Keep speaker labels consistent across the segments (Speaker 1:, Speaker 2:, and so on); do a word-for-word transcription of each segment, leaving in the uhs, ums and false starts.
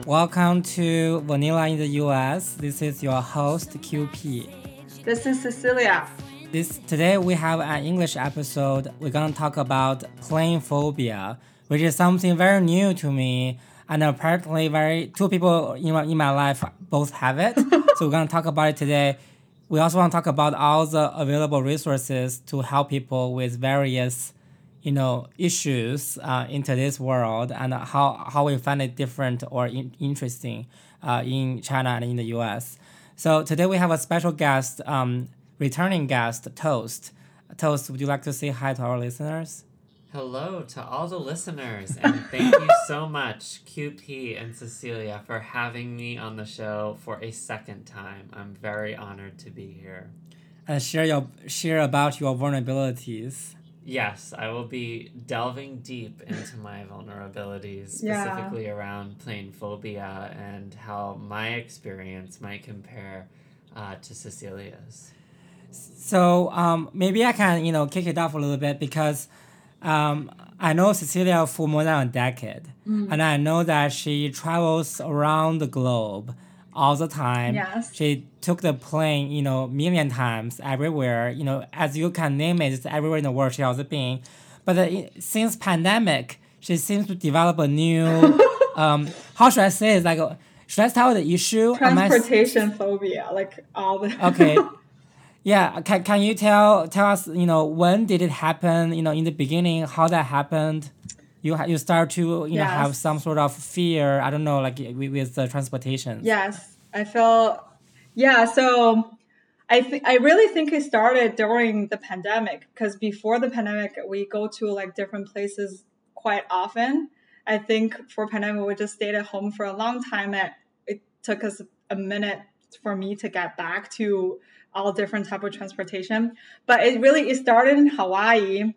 Speaker 1: Welcome to Vanilla in the U S. This is your host Q P.
Speaker 2: This is Cecilia.
Speaker 1: This today we have an English episode. We're gonna talk about plane phobia, which is something very new to me, and apparently very two people in my, in my life both have it. So we're gonna talk about it today. We also want to talk about all the available resources to help people with various, you know, issues uh, in today's world, and how, how we find it different or in, interesting uh, in China and in the U S. So today we have a special guest, um, returning guest, Toast. Toast, would you like to say hi to our listeners?
Speaker 3: Hello to all the listeners, and thank you so much, Q P and Cecilia, for having me on the show for a second time. I'm very honored to be here.
Speaker 1: And share your share about your vulnerabilities.
Speaker 3: Yes, I will be delving deep into my vulnerabilities, specifically yeah. around plane phobia and how my experience might compare uh, to Cecilia's.
Speaker 1: So um, maybe I can, you know, kick it off a little bit because um, I know Cecilia for more than a decade, mm. and I know that she travels around the globe all the time.
Speaker 2: Yes.
Speaker 1: She took the plane, you know, million times everywhere. You know, as you can name it, it's everywhere in the world she has been. But uh, since pandemic, she seems to develop a new, um, how should I say it? Like, a, should I tell the issue?
Speaker 2: Transportation I... phobia, like all the...
Speaker 1: Okay. Yeah, can, can you tell tell us, you know, when did it happen, you know, in the beginning, how that happened? You you start to, you yes. know, have some sort of fear, I don't know, like with, with the transportation.
Speaker 2: Yes, I feel, yeah, so I, th- I really think it started during the pandemic, because before the pandemic, we go to like different places quite often. I think for pandemic, we just stayed at home for a long time, and it took us a minute for me to get back to all different type of transportation. But it really, it started in Hawaii.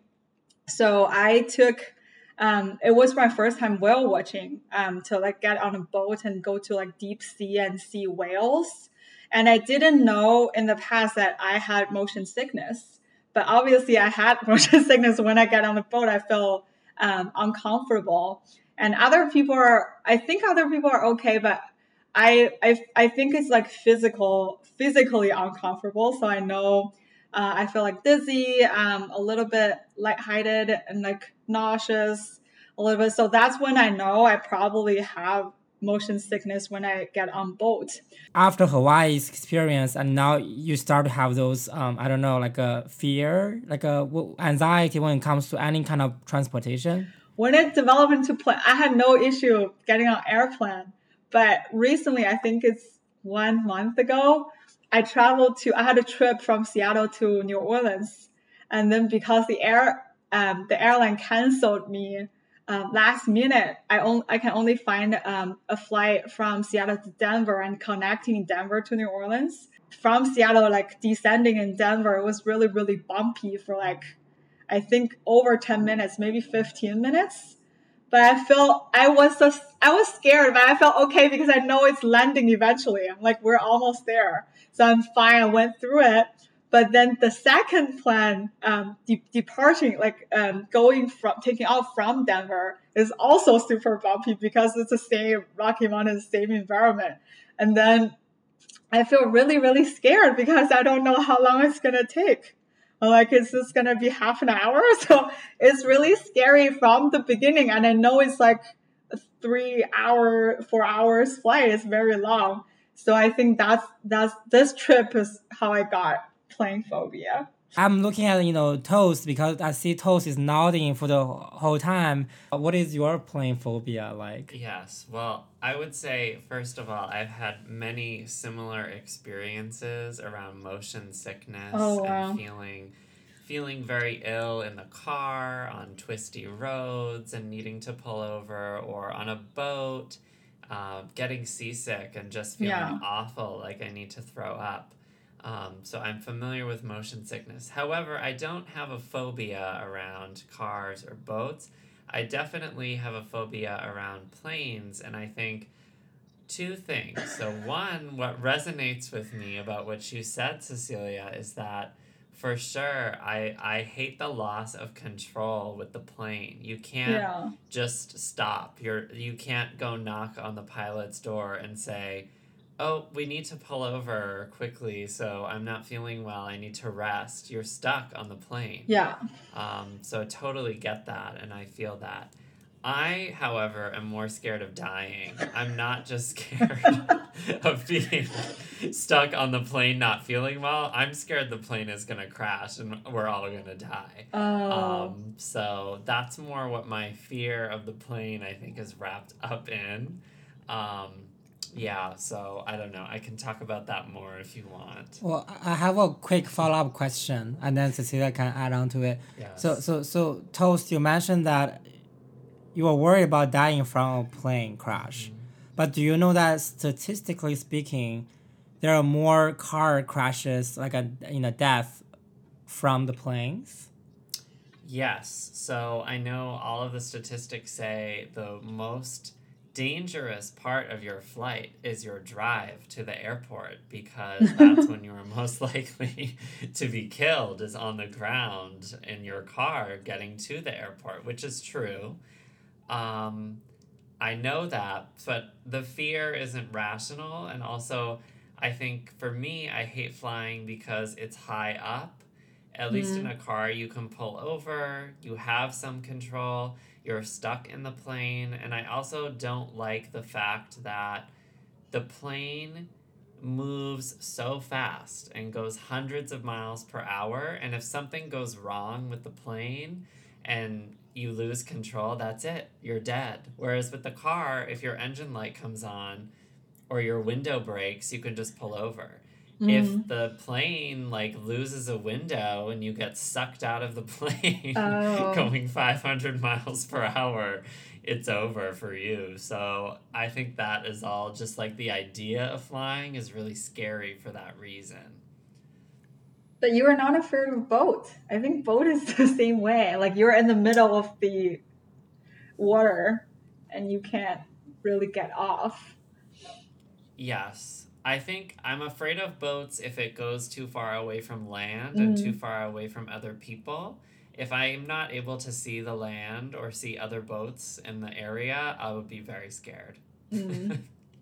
Speaker 2: So I took, um, it was my first time whale watching, um, to like get on a boat and go to like deep sea and see whales. And I didn't know in the past that I had motion sickness, but obviously I had motion sickness. When I got on the boat, I felt um, uncomfortable. And other people are, I think other people are okay, but I, I I think it's like physical, physically uncomfortable. So I know uh, I feel like dizzy, um, a little bit lightheaded, and like nauseous a little bit. So that's when I know I probably have motion sickness when I get on boat.
Speaker 1: After Hawaii's experience, and now you start to have those, um, I don't know, like a fear, like a anxiety when it comes to any kind of transportation.
Speaker 2: When it developed into plane, I had no issue getting on airplane. But recently, I think it's one month ago, I traveled to, I had a trip from Seattle to New Orleans. And then because the air, um, the airline canceled me um, last minute, I, on, I can only find um, a flight from Seattle to Denver and connecting Denver to New Orleans. From Seattle, like descending in Denver, it was really, really bumpy for like, I think over ten minutes, maybe fifteen minutes. But I felt I was so I was scared, but I felt okay because I know it's landing eventually. I'm like, we're almost there, so I'm fine. I went through it. But then the second plan, um, de- departing, like um, going from taking off from Denver, is also super bumpy because it's the same Rocky Mountain, same environment. And then I feel really, really scared because I don't know how long it's gonna take. I'm like, is this going to be half an hour? So it's really scary from the beginning. And I know it's like a three hour, four hours flight. It's very long. So I think that's, that's, this trip is how I got plane phobia.
Speaker 1: I'm looking at, you know, Toast because I see Toast is nodding for the whole time. What is your plane phobia like?
Speaker 3: Yes, well, I would say, first of all, I've had many similar experiences around motion sickness
Speaker 2: oh, wow.
Speaker 3: and feeling feeling very ill in the car, on twisty roads, and needing to pull over, or on a boat, uh, getting seasick and just feeling
Speaker 2: yeah.
Speaker 3: awful, like I need to throw up. Um, so I'm familiar with motion sickness. However, I don't have a phobia around cars or boats. I definitely have a phobia around planes, and I think two things. So one, what resonates with me about what you said, Cecilia, is that For sure. I, I hate the loss of control with the plane. You can't
Speaker 2: Yeah.
Speaker 3: just stop. You're you can't go knock on the pilot's door and say, "Oh, we need to pull over quickly, so I'm not feeling well. I need to rest." You're stuck on the plane.
Speaker 2: Yeah.
Speaker 3: Um, so I totally get that, and I feel that. I, however, am more scared of dying. I'm not just scared of being stuck on the plane not feeling well. I'm scared the plane is going to crash and we're all going to die.
Speaker 2: Oh.
Speaker 3: Um, so that's more what my fear of the plane, I think, is wrapped up in. Um, yeah, so I don't know. I can talk about that more if you want.
Speaker 1: Well, I I have a quick follow-up question, and then Cecilia can add on to it.
Speaker 3: Yes.
Speaker 1: So, so, so, Toast, you mentioned that you were worried about dying from a plane crash. But do you know that statistically speaking, there are more car crashes, like a you know death, from the planes?
Speaker 3: Yes. So I know all of the statistics say the most dangerous part of your flight is your drive to the airport, because that's when you're most likely to be killed, is on the ground in your car getting to the airport, which is true. Um, I know that, but the fear isn't rational. And also, I think for me, I hate flying because it's high up. At least in a car, you can pull over, you have some control, you're stuck in the plane. And I also don't like the fact that the plane moves so fast and goes hundreds of miles per hour. And if something goes wrong with the plane and you lose control, that's it. You're dead. Whereas with the car, if your engine light comes on or your window breaks, you can just pull over.
Speaker 2: Mm.
Speaker 3: If the plane like loses a window and you get sucked out of the plane
Speaker 2: Oh.
Speaker 3: going five hundred miles per hour, it's over for you. So I think that is all just like the idea of flying is really scary for that reason.
Speaker 2: But you are not afraid of boat. I think boat is the same way. Like you're in the middle of the water and you can't really get off.
Speaker 3: Yes. I think I'm afraid of boats if it goes too far away from land and too far away from other people. If I'm not able to see the land or see other boats in the area, I would be very scared.
Speaker 2: Mm.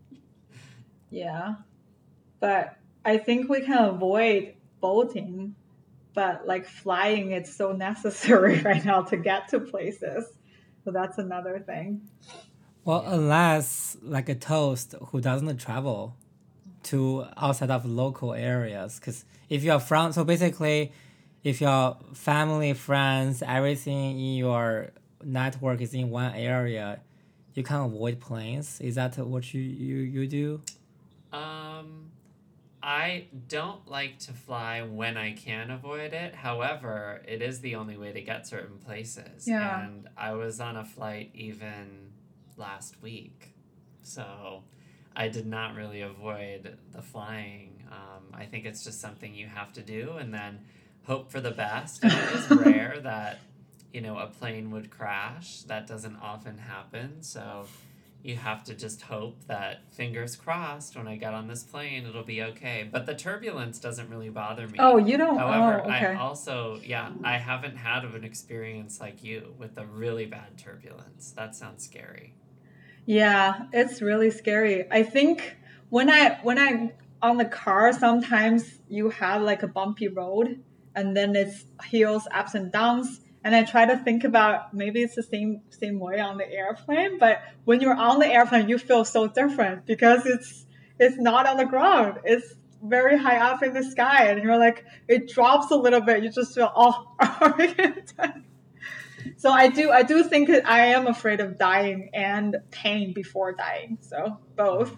Speaker 2: Yeah. But I think we can avoid boating, but like flying, it's so necessary right now to get to places. So that's another thing.
Speaker 1: Well, unless like a Toast who doesn't travel to outside of local areas, because if you're from, so basically, if your family, friends, everything in your network is in one area, you can avoid planes. Is that what you you, you do?
Speaker 3: Um, I don't like to fly when I can avoid it. However, it is the only way to get certain places.
Speaker 2: Yeah.
Speaker 3: And I was on a flight even last week. So I did not really avoid the flying. Um, I think it's just something you have to do and then hope for the best. And it is rare that, you know, a plane would crash. That doesn't often happen. So you have to just hope that, fingers crossed, when I get on this plane, it'll be okay. But the turbulence doesn't really bother me.
Speaker 2: Oh, you don't?
Speaker 3: However,
Speaker 2: Oh, okay.
Speaker 3: I also, yeah, I haven't had of an experience like you with a really bad turbulence. That sounds scary.
Speaker 2: Yeah, it's really scary. I think when I when I'm on the car, sometimes you have like a bumpy road and then it's hills, ups and downs. And I try to think about maybe it's the same same way on the airplane, but when you're on the airplane, you feel so different because it's it's not on the ground. It's very high up in the sky, and you're like, it drops a little bit. You just feel, oh, are we gonna die? So I do I do think that I am afraid of dying and pain before dying. So both.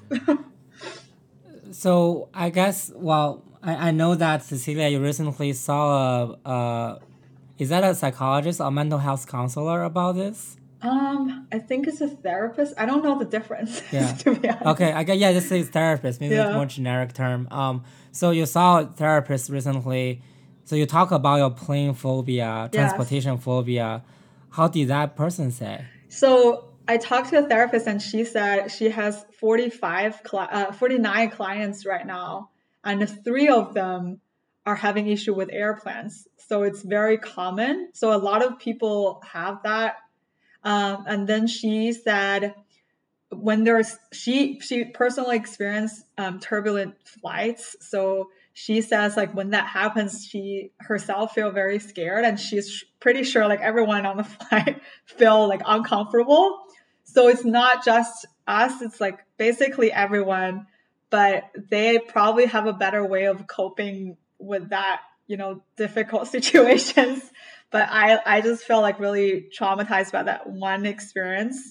Speaker 1: So I guess, well, I, I know that Cecilia, you recently saw a, a is that a psychologist or mental health counselor about this?
Speaker 2: um, I think it's a therapist. I don't know the difference.
Speaker 1: Yeah.
Speaker 2: To be honest.
Speaker 1: Okay, I guess, yeah, just say therapist. Maybe it's
Speaker 2: Yeah.
Speaker 1: a more generic term. Um, so you saw a therapist recently. So you talk about your plane phobia,
Speaker 2: Yes.
Speaker 1: transportation phobia. How did that person say?
Speaker 2: So I talked to a therapist, and she said she has forty-five, cli- uh, forty-nine clients right now, and three of them are having issue with airplanes. So it's very common. So a lot of people have that. Um, and then she said when there's she she personally experienced um, turbulent flights. So she says like when that happens, she herself feel very scared, and she's pretty sure like everyone on the flight feel like uncomfortable. So it's not just us; it's like basically everyone. But they probably have a better way of coping with that, you know, difficult situations. But I I just feel like really traumatized by that one experience.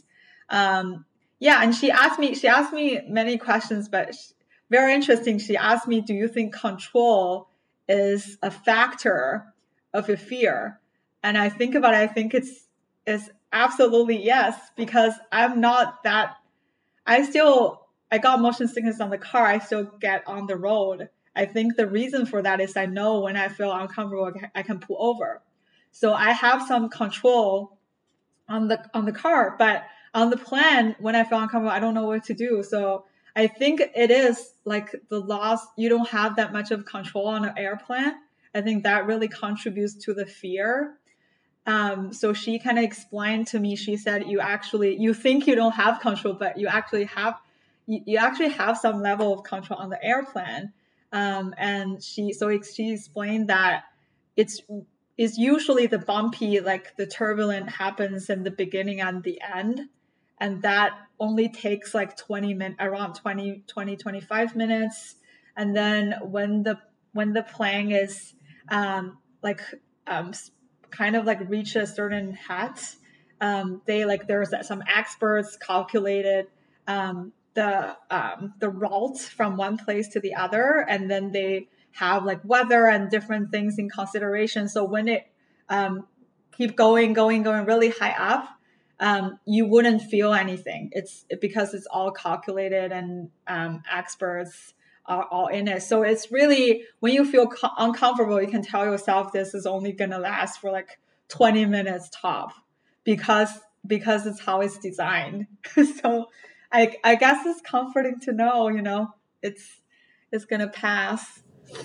Speaker 2: Um, yeah, and she asked me she asked me many questions, but she, very interesting. She asked me, "Do you think control is a factor of your fear?" And I think about it. I think it's it's absolutely yes, because I'm not that. I still I got motion sickness on the car. I still get on the road. I think the reason for that is I know when I feel uncomfortable, I can pull over. So I have some control on the on the car, but on the plane, when I feel uncomfortable, I don't know what to do. So I think it is like the loss. You don't have that much of control on an airplane. I think that really contributes to the fear. Um, so she kind of explained to me, she said, you actually, you think you don't have control, but you actually have, you, you actually have some level of control on the airplane. Um, and she, so she explained that it's, it's usually the bumpy, like the turbulent happens in the beginning and the end. And that only takes like twenty minutes, around twenty, twenty, twenty-five minutes. And then when the, when the plane is, um, like, um, kind of like reach a certain height, um, they like there's some experts calculated um, the um, the route from one place to the other, and then they have like weather and different things in consideration. So when it um, keep going, going, going really high up, um, you wouldn't feel anything. It's because it's all calculated and um, experts are all in it. So it's really, when you feel co- uncomfortable, you can tell yourself this is only going to last for like twenty minutes top, because because it's how it's designed. So I I guess it's comforting to know, you know, it's it's going to pass.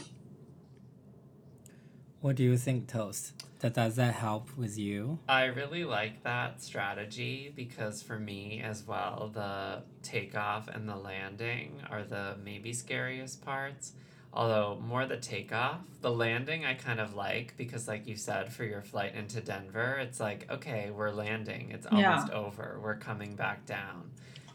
Speaker 1: What do you think, Toast? That does that help with you?
Speaker 3: I really like that strategy because for me as well, the takeoff and the landing are the maybe scariest parts. Although more the takeoff, the landing I kind of like because, like you said, for your flight into Denver, it's like, okay, we're landing. It's almost
Speaker 2: Yeah.
Speaker 3: over. We're coming back down.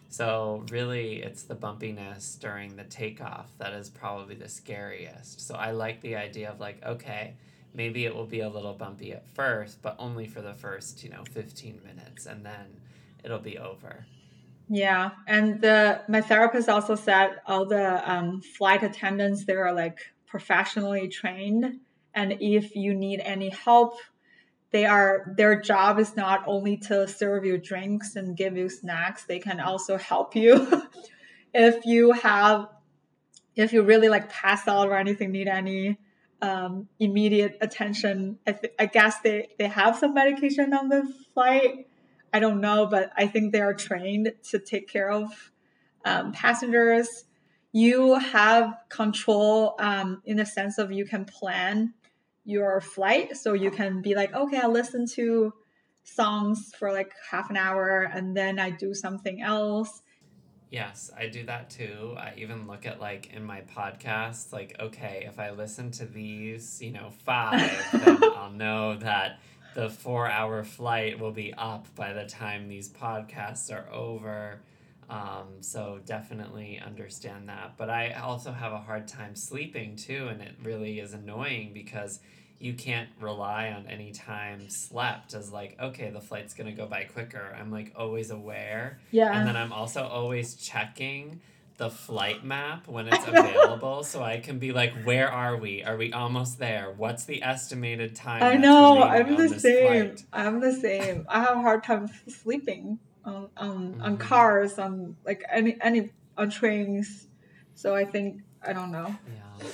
Speaker 3: So really, it's the bumpiness during the takeoff that is probably the scariest. So I like the idea of like, okay, maybe it will be a little bumpy at first, but only for the first, you know, fifteen minutes, and then it'll be over.
Speaker 2: Yeah, and the my therapist also said all the um, flight attendants, they are like professionally trained, and if you need any help, they are their job is not only to serve you drinks and give you snacks, they can also help you if you have if you really like pass out or anything, need any um, immediate attention. I, th- I guess they they have some medication on the flight. I don't know, but I think they are trained to take care of um, passengers. You have control um, in the sense of you can plan your flight. So you can be like, okay, I'll listen to songs for like half an hour and then I do something else.
Speaker 3: Yes, I do that too. I even look at like in my podcasts, like, okay, if I listen to these, you know, five, then I'll know that the four hour flight will be up by the time these podcasts are over. Um, so definitely understand that. But I also have a hard time sleeping too, and it really is annoying because you can't rely on any time slept as like, okay, the flight's gonna go by quicker. I'm like always aware.
Speaker 2: Yeah.
Speaker 3: And then I'm also always checking the flight map when it's available so I can be like, where are we? Are we almost there? What's the estimated time
Speaker 2: I
Speaker 3: that's
Speaker 2: know,
Speaker 3: remaining
Speaker 2: I'm
Speaker 3: on
Speaker 2: the
Speaker 3: this
Speaker 2: same.
Speaker 3: flight?
Speaker 2: I'm the same. I have a hard time sleeping on on, on
Speaker 3: Mm-hmm.
Speaker 2: cars, on like any any on trains. So I think I don't know.
Speaker 3: Yeah.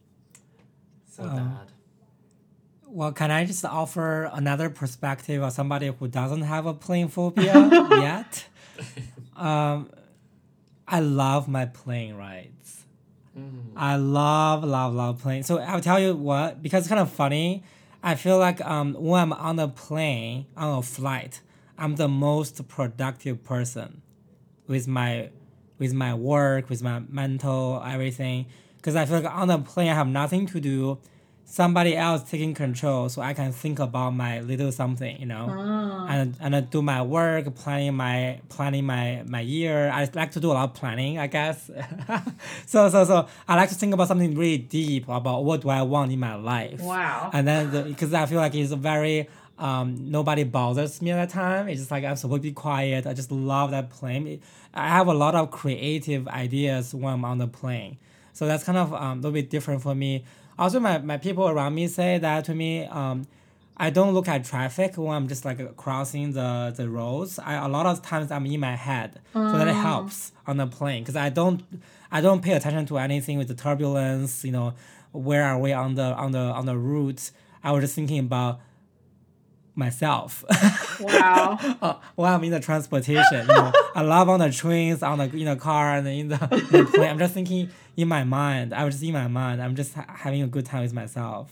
Speaker 3: So
Speaker 1: Oh.
Speaker 3: bad.
Speaker 1: Well, can I just offer another perspective of somebody who doesn't have a plane phobia yet? Um, I love my plane rides.
Speaker 3: Mm.
Speaker 1: I love, love, love plane. So I'll tell you what, because it's kind of funny. I feel like um when I'm on a plane, on a flight, I'm the most productive person with my with my work, with my mental, everything. Because I feel like on the plane I have nothing to do. Somebody else taking control, so I can think about my little something, you know,
Speaker 2: Ah,
Speaker 1: and and I do my work, planning my planning my my year. I like to do a lot of planning, I guess. so so so I like to think about something really deep about what do I want in my life,
Speaker 2: wow.
Speaker 1: and then because I feel like it's a very um, nobody bothers me at that time. It's just like I'm supposed to be quiet. I just love that plane. It- I have a lot of creative ideas when I'm on the plane. So that's kind of um, a little bit different for me. Also, my, my people around me say that to me. Um, I don't look at traffic when I'm just like crossing the, the roads. I, a lot of times I'm in my head, so that it
Speaker 2: Ah,
Speaker 1: helps on the plane because I don't I don't pay attention to anything with the turbulence. You know, where are we on the on the on the route? I was just thinking about myself
Speaker 2: wow.
Speaker 1: uh, while I'm in the transportation. You know, I love on the trains, on the in the car, and in the in the plane. I'm just thinking in my mind. I was just in my mind. I'm just ha- having a good time with myself.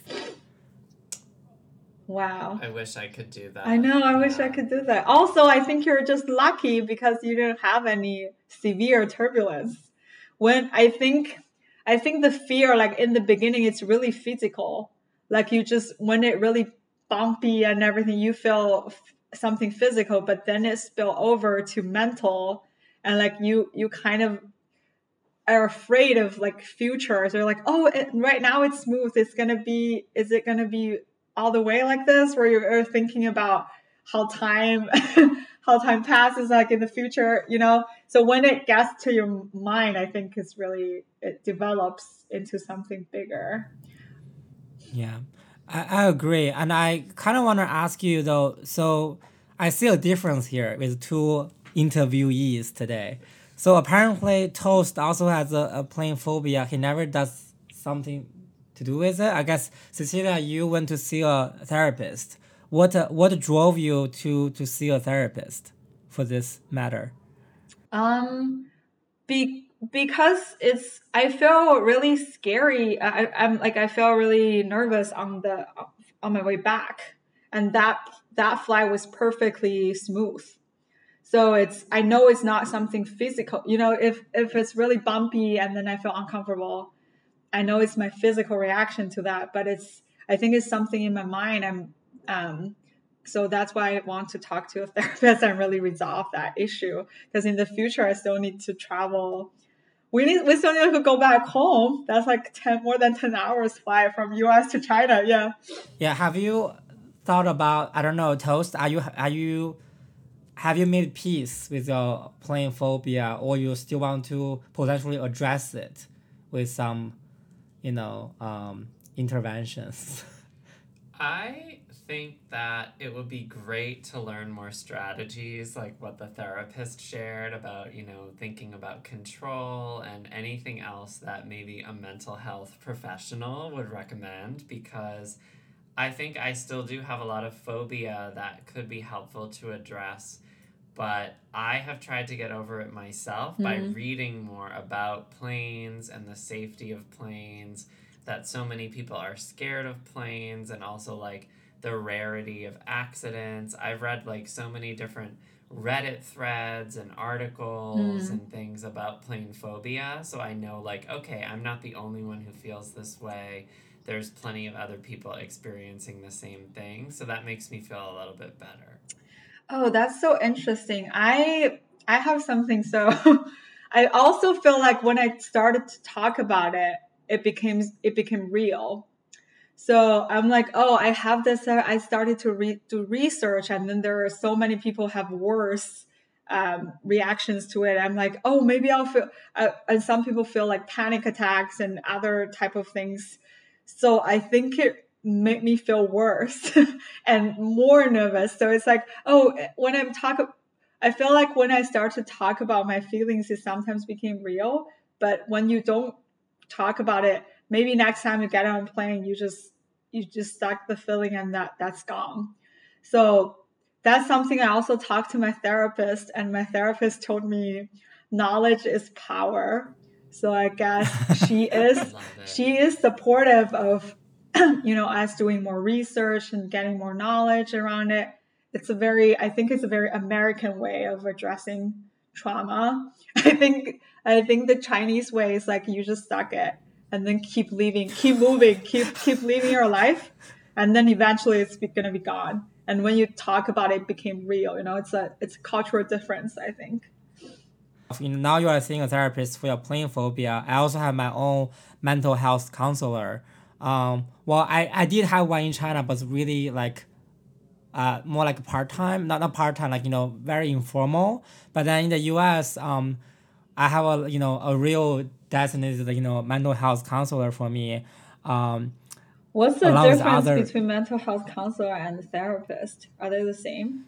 Speaker 2: Wow.
Speaker 3: I wish I could do
Speaker 2: I
Speaker 3: that.
Speaker 2: know, I wish I
Speaker 3: Yeah.
Speaker 2: could do that. Also, I think you're just lucky because you didn't have any severe turbulence. When I think I think the fear like in the beginning it's really physical. Like you just when it really bumpy and everything you feel f- something physical, but then it spill over to mental and like you you kind of are afraid of like futures. They're like, oh, it, right now it's smooth. It's gonna be. Is it gonna be all the way like this? Where you're thinking about how time, how time passes, like in the future, you know. So when it gets to your mind, I think it's really it develops into something bigger.
Speaker 1: Yeah, I, I agree. And I kind of want to ask you though, so I see a difference here with two interviewees today. So apparently Toast also has a, a plane phobia. He never does something to do with it. I guess Cecilia, you went to see a therapist. What uh, what drove you to to see a therapist for this matter?
Speaker 2: Um, be because it's I feel really scary. I, I'm like I feel really nervous on the on my way back, and that that flight was perfectly smooth. So it's I know it's not something physical. You know, if if it's really bumpy and then I feel uncomfortable, I know it's my physical reaction to that. But it's I think it's something in my mind. I'm um, so that's why I want to talk to a therapist and really resolve that issue. Because in the future, I still need to travel. We need we still need to go back home. That's like ten more than ten hours flight from U S to China. Yeah.
Speaker 1: Yeah, have you thought about I don't know Toast? Are you are you have you made peace with your plane phobia, or you still want to potentially address it with some, you know, um, interventions?
Speaker 3: I think that it would be great to learn more strategies like what the therapist shared about, you know, thinking about control and anything else that maybe a mental health professional would recommend because I think I still do have a lot of phobia that could be helpful to address, but I have tried to get over it myself by
Speaker 2: Mm.
Speaker 3: reading more about planes and the safety of planes, that so many people are scared of planes, and also like the rarity of accidents. I've read like so many different Reddit threads and articles
Speaker 2: Mm.
Speaker 3: and things about plane phobia, so I know like, okay, I'm not the only one who feels this way. There's plenty of other people experiencing the same thing, so that makes me feel a little bit better.
Speaker 2: Oh, that's so interesting. I I have something so I also feel like when I started to talk about it, it became it became real. So I'm like, oh, I have this. uh, I started to re- do research, and then there are so many people have worse um, reactions to it. I'm like, oh, maybe I'll feel. Uh, and some people feel like panic attacks and other type of things. So I think it made me feel worse and more nervous. So it's like, oh, when I'm talking, I feel like when I start to talk about my feelings, it sometimes became real. But when you don't talk about it, maybe next time you get on a plane, you just you just suck the feeling and that that's gone. So that's something I also talked to my therapist, and my therapist told me knowledge is power. So I guess she is
Speaker 3: Love it.
Speaker 2: she is supportive of you know us doing more research and getting more knowledge around it. It's a very I think it's a very American way of addressing trauma. I think I think the Chinese way is like you just suck it and then keep leaving, keep moving, keep keep living your life, and then eventually it's gonna be gone. And when you talk about it, it became real. You know, it's a it's a cultural difference, I think.
Speaker 1: You know, now you are seeing a therapist for your playing phobia. I also have my own mental health counselor. Um, well, I, I did have one in China, but it's really like uh, more like part time, not not part time, like you know, very informal. But then in the U S, um, I have a you know a real designated you know mental health counselor for me. Um,
Speaker 2: What's the
Speaker 1: along with
Speaker 2: difference
Speaker 1: other,
Speaker 2: between mental health counselor and therapist? Are they the same?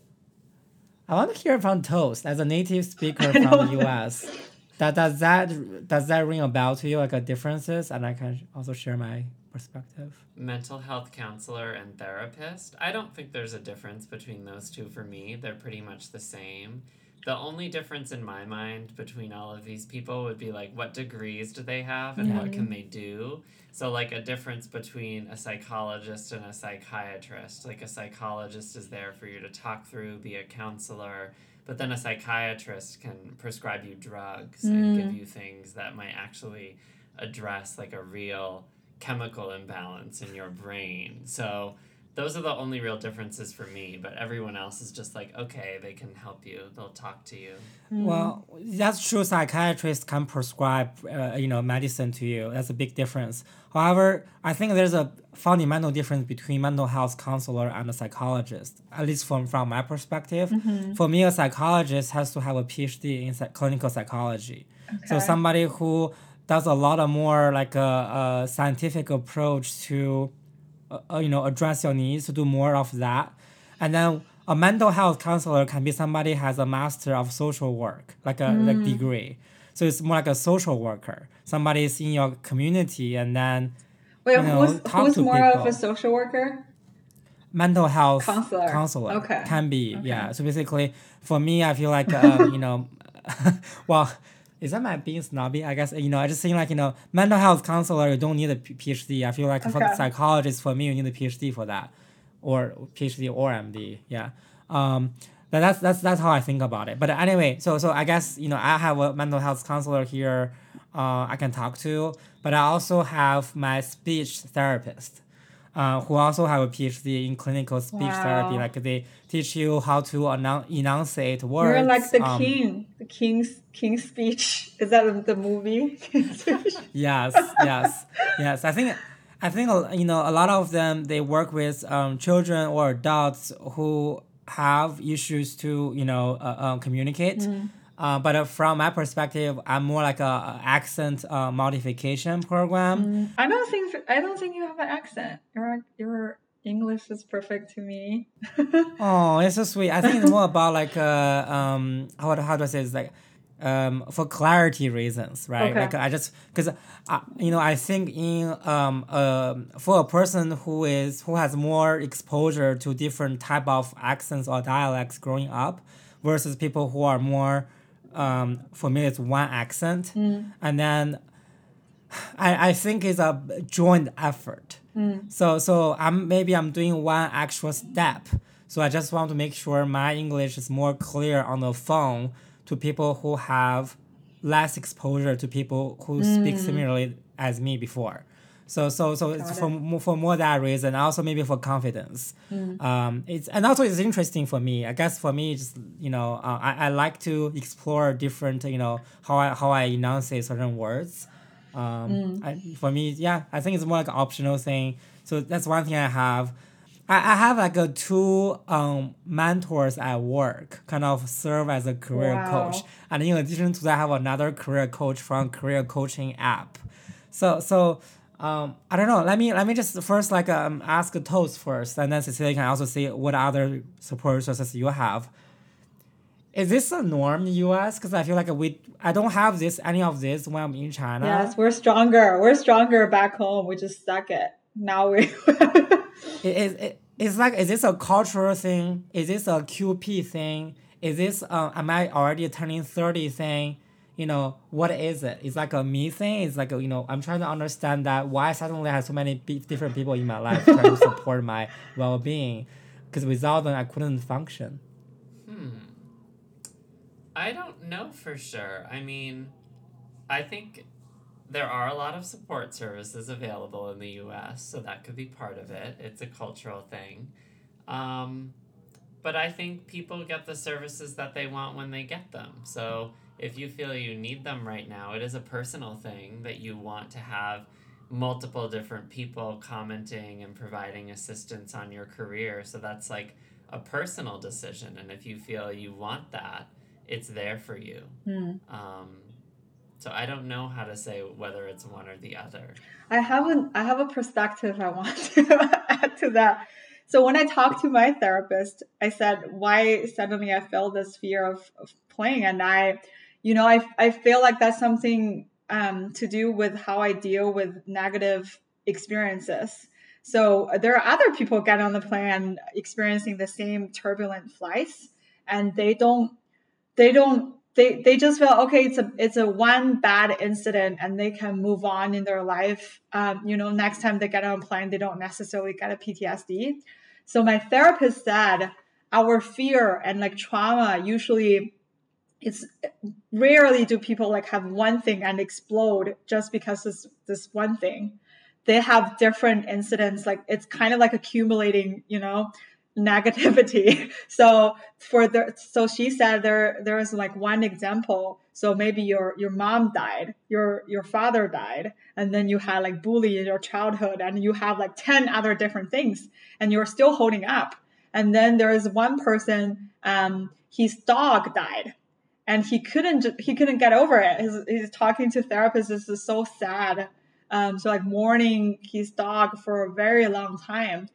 Speaker 1: I want to hear from Toast as a native speaker
Speaker 2: I
Speaker 1: from the
Speaker 2: don't
Speaker 1: U
Speaker 2: know.
Speaker 1: S. That does that does that ring a bell to you, like a differences? And I can also share my perspective.
Speaker 3: Mental health counselor and therapist. I don't think there's a difference between those two for me. They're pretty much the same. The only difference in my mind between all of these people would be like what degrees do they have and
Speaker 1: Yeah.
Speaker 3: what can they do. So like a difference between a psychologist and a psychiatrist. Like a psychologist is there for you to talk through, be a counselor, but then a psychiatrist can prescribe you drugs and give you things that might actually address like a real chemical imbalance in your brain. So those are the only real differences for me, but everyone else is just like, okay, they can help you, they'll talk to you.
Speaker 1: Well, that's true. Psychiatrists can prescribe, uh, you know, medicine to you. That's a big difference. However, I think there's a fundamental difference between mental health counselor and a psychologist. At least from from my perspective, for me, a psychologist has to have a PhD in psych- clinical psychology. So
Speaker 2: Okay.
Speaker 1: somebody who does a lot of more like a, a scientific approach to uh, uh, you know address your needs, to do more of that. And then a mental health counselor can be somebody who has a master of social work, like a like degree. So it's more like a social worker. Somebody is in your community and then
Speaker 2: Wait,
Speaker 1: you know
Speaker 2: who's
Speaker 1: talk
Speaker 2: who's
Speaker 1: to
Speaker 2: more of a
Speaker 1: people.
Speaker 2: social worker?
Speaker 1: Mental health
Speaker 2: Counselor.
Speaker 1: counselor
Speaker 2: Okay.
Speaker 1: can be,
Speaker 2: Okay.
Speaker 1: yeah. So basically, for me, I feel like um, you know, well, is that my being snobby? I guess you know, I just think like you know, mental health counselor, you don't need a P- PhD. I feel like for the
Speaker 2: Okay.
Speaker 1: psychologist, for me, you need a PhD for that, or PhD or M D. Yeah. Um, but that's that's that's how I think about it. But anyway, so so I guess you know I have a mental health counselor here, uh, I can talk to, but I also have my speech therapist, uh, who also have a PhD in clinical speech therapy.
Speaker 2: Wow.
Speaker 1: Like they teach you how to annou- enunciate words.
Speaker 2: You're like the
Speaker 1: um,
Speaker 2: king. The king's king's speech. Is that the- the movie? King's Speech?
Speaker 1: Yes, yes, yes. I think, I think uh, you know a lot of them they work with um, children or adults who have issues to you know uh, uh, communicate. Uh, but uh, from my perspective, I'm more like a, a accent uh, modification program.
Speaker 2: I don't think I don't think you have an accent. Your your English is perfect to me.
Speaker 1: Oh, it's so sweet. I think it's more about like uh um how how do I say it's like um for clarity reasons, right?
Speaker 2: Okay.
Speaker 1: Like I just because uh, you know I think in um um for a person who is who has more exposure to different type of accents or dialects growing up versus people who are more um familiar with one accent, and then I, I think it's a joint effort. So so I'm maybe I'm doing one extra step. So I just want to make sure my English is more clear on the phone to people who have less exposure to people who speak similarly as me before. So so so it's
Speaker 2: Got
Speaker 1: for
Speaker 2: it.
Speaker 1: mo- for more that reason, also maybe for confidence. Um, it's and also it's interesting for me. I guess for me, just you know, uh, I, I like to explore different you know how I how I enunciate certain words. Um, I, for me, yeah, I think it's more like an optional thing. So that's one thing I have. I, I have like a two um, mentors at work, kind of serve as a career coach,
Speaker 2: Wow.
Speaker 1: and in addition to that, I have another career coach from career coaching app. So so um, I don't know. Let me let me just first like um, ask a Toast first, and then Cecilia can also see what other support resources you have. Is this a norm in the U S? Because I feel like we I don't have this any of this when I'm in China.
Speaker 2: Yes, we're stronger. We're stronger back home. We just suck it. Now we.
Speaker 1: It, it, it, it's like, is this a cultural thing? Is this a Q P thing? Is this, uh, am I already turning thirty thing? you know, what is it? It's like a me thing. It's like, a, you know, I'm trying to understand that why suddenly I have so many be- different people in my life trying to support my well-being. Because without them, I couldn't function.
Speaker 3: Hmm. I don't know for sure. I mean, I think there are a lot of support services available in the U S, so that could be part of it. It's a cultural thing. Um, but I think people get the services that they want when they get them. So if you feel you need them right now, it is a personal thing that you want to have multiple different people commenting and providing assistance on your career. So that's like a personal decision. And if you feel you want that, it's there for you.
Speaker 2: Mm.
Speaker 3: Um, so I don't know how to say whether it's one or the other.
Speaker 2: I have an I have a perspective I want to add to that. So when I talked to my therapist, I said, why suddenly I felt this fear of, of playing? And I, you know, I, I feel like that's something um, to do with how I deal with negative experiences. So there are other people getting on the plane experiencing the same turbulent flights, and they don't, they don't, they, they just feel, okay, it's a, it's a one bad incident and they can move on in their life. Um, you know, next time they get on a plane, they don't necessarily get a P T S D. So my therapist said our fear and like trauma, usually it's rarely do people like have one thing and explode just because this, this one thing. They have different incidents. Like it's kind of like accumulating, you know, negativity. So for the, so she said there, there is like one example. So maybe your, your mom died, your, your father died, and then you had like bully in your childhood and you have like ten other different things and you're still holding up. And then there is one person, um, his dog died and he couldn't, he couldn't get over it. He's, he's talking to therapists. This is so sad. Um, so like mourning his dog for a very long time.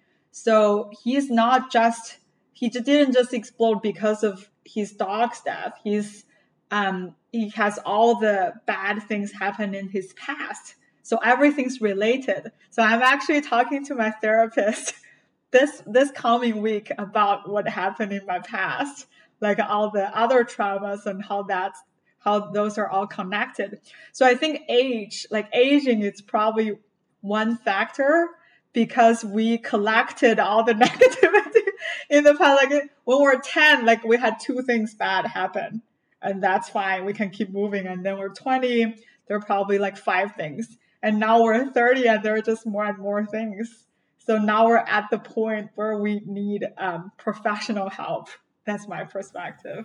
Speaker 2: So he's not just, he didn't just explode because of his dog's death. He's, um, he has all the bad things happen in his past. So everything's related. So I'm actually talking to my therapist this, this coming week about what happened in my past, like all the other traumas and how that's, how those are all connected. So I think age, like aging, is probably one factor because we collected all the negativity in the past. Like when we're ten, like we had two things bad happen and that's fine. We can keep moving. And then we're twenty, there are probably like five things. And now we're thirty and there are just more and more things. So now we're at the point where we need um, professional help. That's my perspective.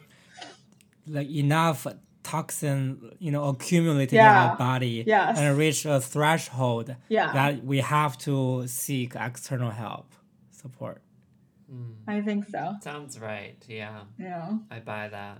Speaker 1: Like enough toxin, you know, accumulated
Speaker 2: Yeah.
Speaker 1: in our body
Speaker 2: Yes.
Speaker 1: and reach a threshold
Speaker 2: Yeah.
Speaker 1: that we have to seek external help, support.
Speaker 3: Mm.
Speaker 2: I think so.
Speaker 3: Sounds right. Yeah,
Speaker 2: Yeah.
Speaker 3: I buy that.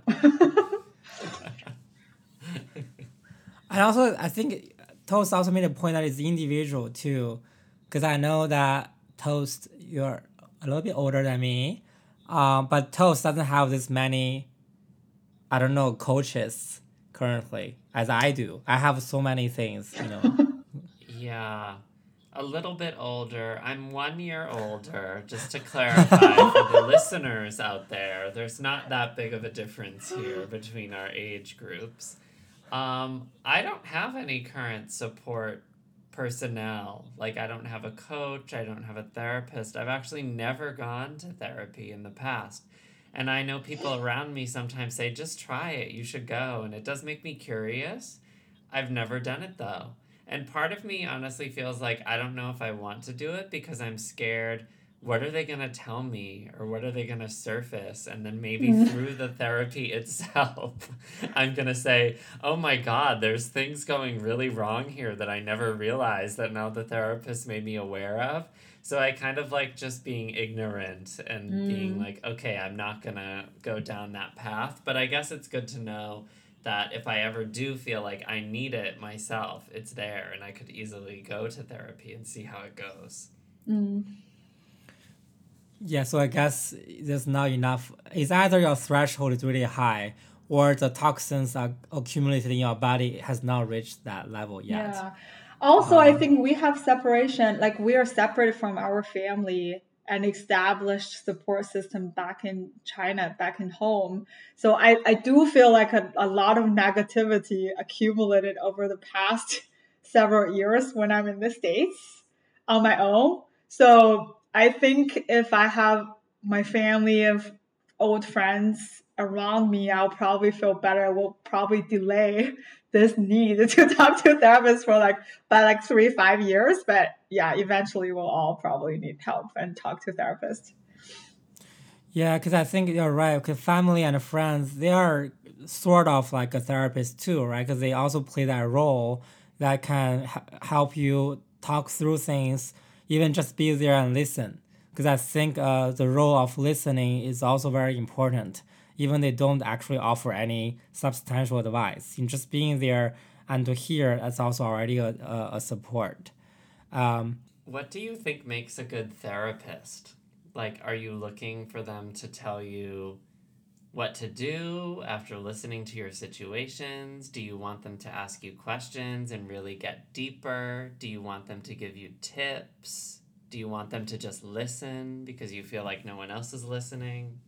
Speaker 1: And also, I think Toast also made a point that it's individual too, because I know that Toast, you're a little bit older than me, um, but Toast doesn't have this many, I don't know, coaches currently as I do. I have so many things, you know.
Speaker 3: Yeah, a little bit older. I'm one year older, just to clarify for the listeners out there. There's not that big of a difference here between our age groups. Um, I don't have any current support personnel. Like, I don't have a coach, I don't have a therapist. I've actually never gone to therapy in the past. And I know people around me sometimes say, just try it, you should go. And it does make me curious. I've never done it though. And part of me honestly feels like I don't know if I want to do it because I'm scared. What are they going to tell me? Or what are they going to surface? And then maybe through the therapy itself, I'm going to say, oh my God, there's things going really wrong here that I never realized that now the therapist made me aware of. So I kind of like just being ignorant and mm. being like, okay, I'm not going to go down that path. But I guess it's good to know that if I ever do feel like I need it myself, it's there and I could easily go to therapy and see how it goes.
Speaker 2: Mm.
Speaker 1: Yeah, so I guess there's not enough. It's either your threshold is really high or the toxins are accumulated in your body has not reached that level yet.
Speaker 2: Yeah. Also,
Speaker 1: Um,
Speaker 2: I think we have separation, like we are separate from our family an established support system back in China, back in home. So I, I do feel like a, a lot of negativity accumulated over the past several years when I'm in the States on my own. So I think if I have my family of old friends around me, I'll probably feel better. We'll probably delay this need to talk to therapists for like by like three, five years. But yeah, eventually we'll all probably need help and talk to therapists.
Speaker 1: Yeah, because I think you're right. Because family and friends, they are sort of like a therapist too, right? Because they also play that role that can h- help you talk through things, even just be there and listen. Because I think uh, the role of listening is also very important. Even they don't actually offer any substantial advice. In just being there and to hear, that's also already a, a, a support. Um,
Speaker 3: What do you think makes a good therapist? Like, are you looking for them to tell you what to do after listening to your situations? Do you want them to ask you questions and really get deeper? Do you want them to give you tips? Do you want them to just listen because you feel like no one else is listening?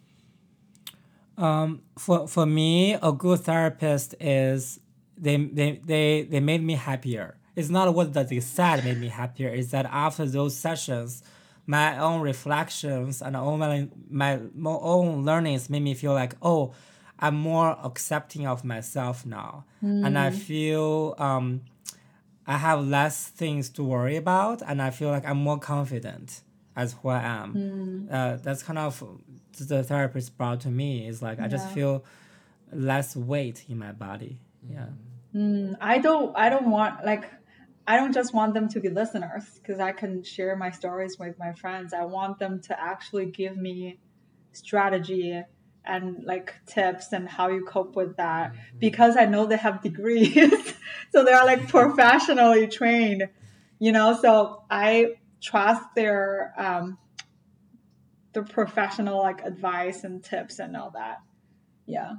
Speaker 1: Um, for for me, a good therapist is they they they, they made me happier. It's not what that they said made me happier. It's that after those sessions, my own reflections and own my, my my own learnings made me feel like, oh, I'm more accepting of myself now, and I feel um, I have less things to worry about, and I feel like I'm more confident as who I am. Uh, that's kind of the therapist brought to me. Is like I just
Speaker 2: Yeah.
Speaker 1: feel less weight in my body. Yeah.
Speaker 2: Mm, I don't I don't want like I don't just want them to be listeners because I can share my stories with my friends. I want them to actually give me strategy and like tips and how you cope with that because I know they have degrees. So they're like professionally trained, you know, so I trust their um their professional like advice and tips and all that. Yeah.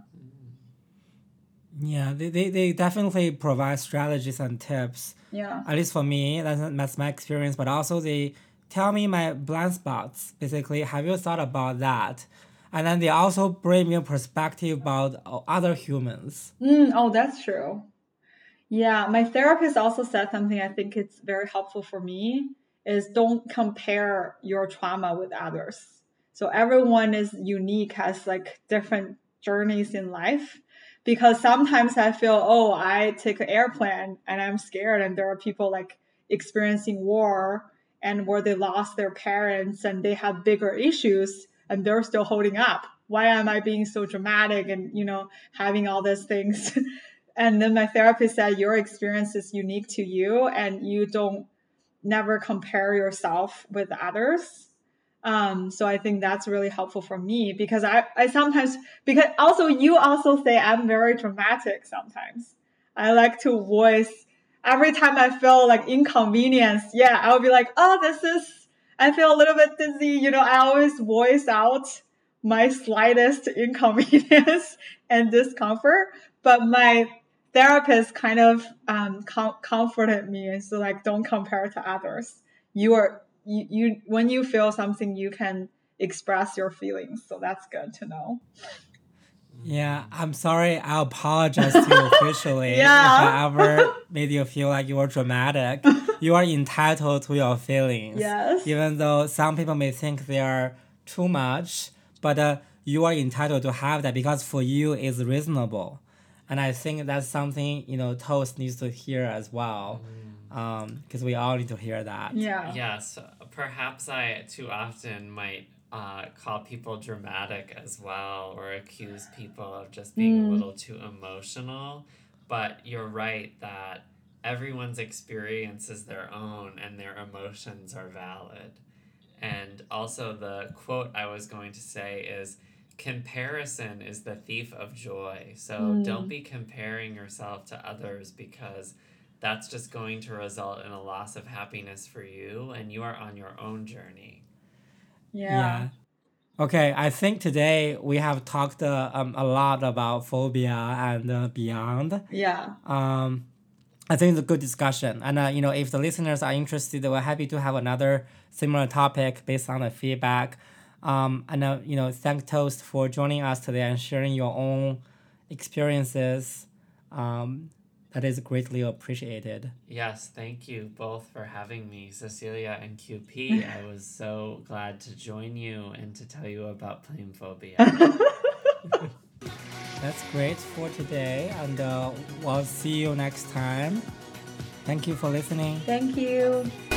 Speaker 1: Yeah, they, they, they definitely provide strategies and tips.
Speaker 2: Yeah.
Speaker 1: At least for me, that's, that's my experience. But also they tell me my blind spots. Basically, have you thought about that? And then they also bring me a perspective about uh, other humans.
Speaker 2: Mm, oh, that's true. Yeah, my therapist also said something I think it's very helpful for me is don't compare your trauma with others. So everyone is unique, has like different journeys in life. Because sometimes I feel, oh, I take an airplane and I'm scared, and there are people like experiencing war and where they lost their parents and they have bigger issues and they're still holding up. Why am I being so dramatic and, you know, having all these things? And then my therapist said, your experience is unique to you and you don't never compare yourself with others. Um, so I think that's really helpful for me because I, I sometimes, because also you also say I'm very dramatic sometimes. I like to voice every time I feel like inconvenience. Yeah, I'll be like, oh, this is, I feel a little bit dizzy. You know, I always voice out my slightest inconvenience and discomfort. But my therapist kind of um, com- comforted me and so like don't compare to others. You are you, you when you feel something you can express your feelings, so that's good to know.
Speaker 1: Yeah, I'm sorry. I apologize to you officially
Speaker 2: Yeah.
Speaker 1: if I ever made you feel like you were dramatic. You are entitled to your feelings.
Speaker 2: Yes.
Speaker 1: Even though some people may think they are too much, but uh, you are entitled to have that because for you it's reasonable. And I think that's something, you know, Toast needs to hear as well. Because um, we all need to hear that.
Speaker 2: Yeah.
Speaker 3: Yes, perhaps I too often might uh, call people dramatic as well or accuse people of just being a little too emotional. But you're right that everyone's experience is their own and their emotions are valid. And also, the quote I was going to say is comparison is the thief of joy. So don't be comparing yourself to others because that's just going to result in a loss of happiness for you and you are on your own journey.
Speaker 2: Yeah.
Speaker 1: Yeah. Okay, I think today we have talked uh, um, a lot about phobia and uh, beyond.
Speaker 2: Yeah.
Speaker 1: Um, I think it's a good discussion. And, uh, you know, if the listeners are interested, we're happy to have another similar topic based on the feedback. Um, and, uh, you know, thank Toast for joining us today and sharing your own experiences. Um, that is greatly appreciated.
Speaker 3: Yes, thank you both for having me, Cecilia and Q P. I was so glad to join you and to tell you about plane phobia.
Speaker 1: That's great for today, and uh, we'll see you next time. Thank you for listening.
Speaker 2: Thank you.